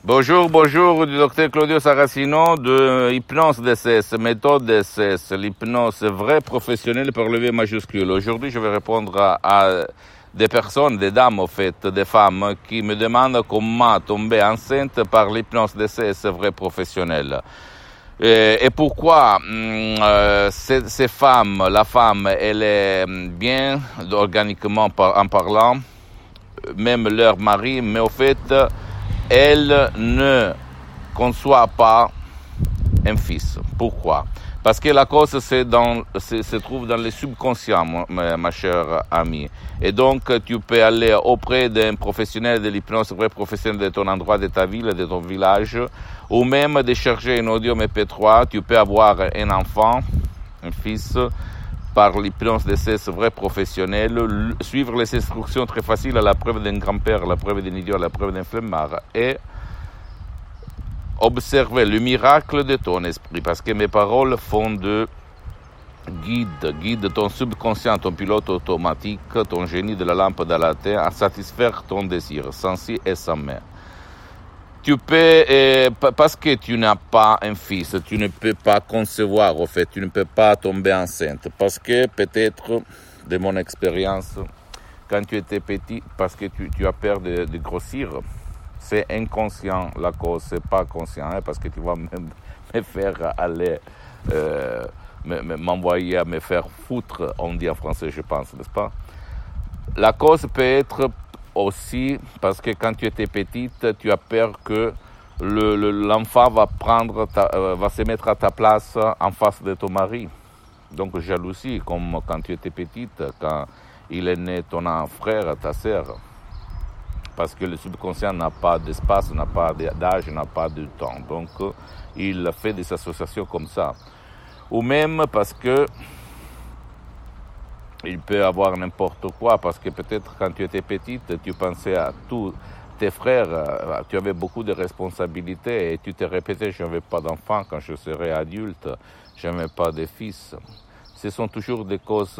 Bonjour, du docteur Claudio Saracino de Hypnose DCS, méthode DCS, l'hypnose vraie professionnelle par le V majuscule. Aujourd'hui, je vais répondre à des personnes, des dames en fait, des femmes qui me demandent comment tomber enceinte par l'hypnose DCS vraie professionnelle. Et pourquoi ces femmes, la femme, elle est bien organiquement en parlant, même leur mari, mais au fait, elle ne conçoit pas un fils. Pourquoi? Parce que la cause se trouve dans le subconscient, ma chère amie. Et donc, tu peux aller auprès d'un professionnel de l'hypnose, vrai professionnel de ton endroit, de ta ville, de ton village, ou même de chercher un audio MP3. Tu peux avoir un enfant, un fils, par l'hypnose de ces vrais professionnels, suivre les instructions très faciles à la preuve d'un grand-père, à la preuve d'un idiot, à la preuve d'un flemmard, et observer le miracle de ton esprit, parce que mes paroles font de guide ton subconscient, ton pilote automatique, ton génie de la lampe dans la terre, à satisfaire ton désir, sans si et sans mais. Tu peux, parce que tu n'as pas un fils, tu ne peux pas concevoir, au fait, tu ne peux pas tomber enceinte. Parce que peut-être, de mon expérience, quand tu étais petit, parce que tu as peur de grossir, c'est inconscient la cause, c'est pas conscient, hein, parce que tu vas me faire aller, m'envoyer à me faire foutre, on dit en français, je pense, n'est-ce pas? La cause peut être aussi parce que quand tu étais petite, tu as peur que l'enfant va se mettre à ta place en face de ton mari. Donc jalousie, comme quand tu étais petite, quand il est né ton frère, ta sœur. Parce que le subconscient n'a pas d'espace, n'a pas d'âge, n'a pas de temps. Donc il fait des associations comme ça. Ou même parce que il peut avoir n'importe quoi, parce que peut-être quand tu étais petite, tu pensais à tous tes frères, tu avais beaucoup de responsabilités et tu te répétais, je n'avais pas d'enfant quand je serai adulte, je n'avais pas de fils. Ce sont toujours des causes,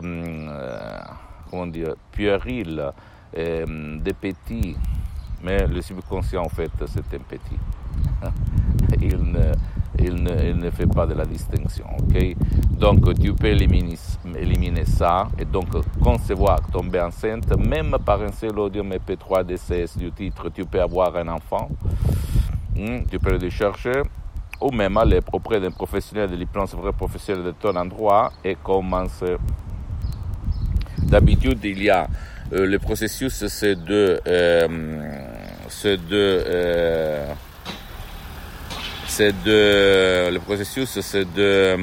puériles, des petits, mais le subconscient en fait c'est un petit. Il ne fait pas de la distinction, ok? Donc tu peux éliminer ça et donc concevoir, tomber enceinte, même par un seul audio MP3 DCS du titre, tu peux avoir un enfant, tu peux le chercher, ou même aller auprès d'un professionnel de l'hypnose vrai professionnel de ton endroit et commencer. D'habitude, il y a le processus, le processus, c'est de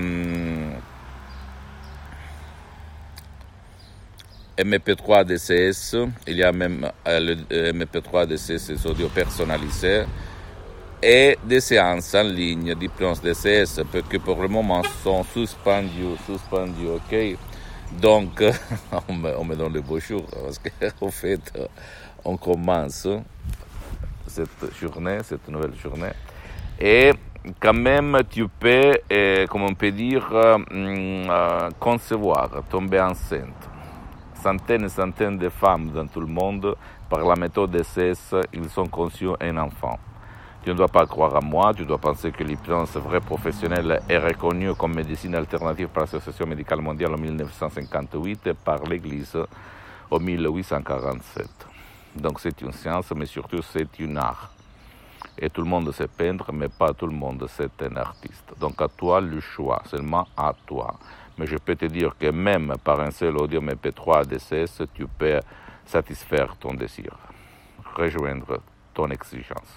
MP3 DCS. Il y a même le MP3 DCS, des audios personnalisés, et des séances en ligne d'hypnose DCS, parce que pour le moment sont suspendus, ok? Donc, on me donne le bonjour, parce qu'en fait, on commence cette nouvelle journée. Et quand même, tu peux, comme on peut dire, concevoir, tomber enceinte. Centaines et centaines de femmes dans tout le monde, par la méthode DCS, ils ont conçu un enfant. Tu ne dois pas croire à moi, tu dois penser que l'hypnose vraie professionnelle est reconnue comme médecine alternative par l'Association médicale mondiale en 1958 et par l'Église en 1847. Donc c'est une science, mais surtout c'est un art. Et tout le monde sait peindre, mais pas tout le monde c'est un artiste. Donc à toi le choix, seulement à toi. Mais je peux te dire que même par un seul audio MP3 DCS, tu peux satisfaire ton désir, rejoindre ton exigence.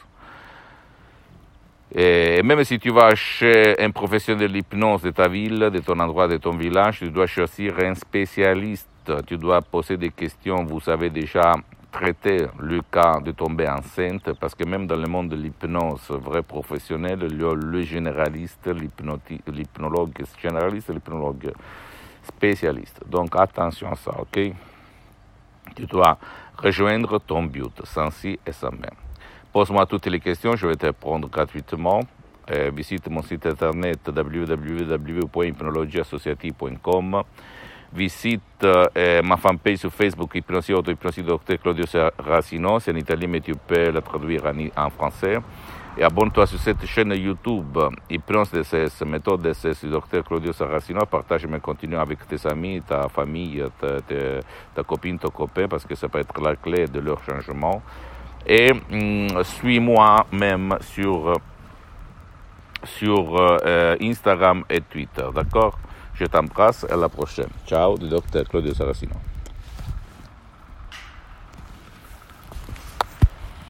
Et même si tu vas chez un professionnel de l'hypnose de ta ville, de ton endroit, de ton village, tu dois choisir un spécialiste. Tu dois poser des questions. Vous avez déjà traité le cas de tomber enceinte, parce que même dans le monde de l'hypnose vrai professionnel, il y a le généraliste, l'hypnologue généraliste, l'hypnologue spécialiste. Donc attention à ça, ok? Tu dois rejoindre ton but, sans si et sans mais. Pose-moi toutes les questions, je vais te répondre gratuitement. Visite mon site internet www.hypnologieassociative.com. visite ma fanpage sur Facebook, Hypnosie Auto, Hypnosie Docteur Claudio Saracino. C'est en italien, mais tu peux la traduire en français. Et abonne-toi sur cette chaîne YouTube, Hypnose DCS, méthode DCS du Dr Claudio Saracino. Partage mes contenus avec tes amis, ta famille, ta copine, ton copain, parce que ça peut être la clé de leur changement. Et suis-moi même sur Instagram et Twitter, d'accord? Je t'embrasse, à la prochaine. Ciao, du Dr Claudio Saracino.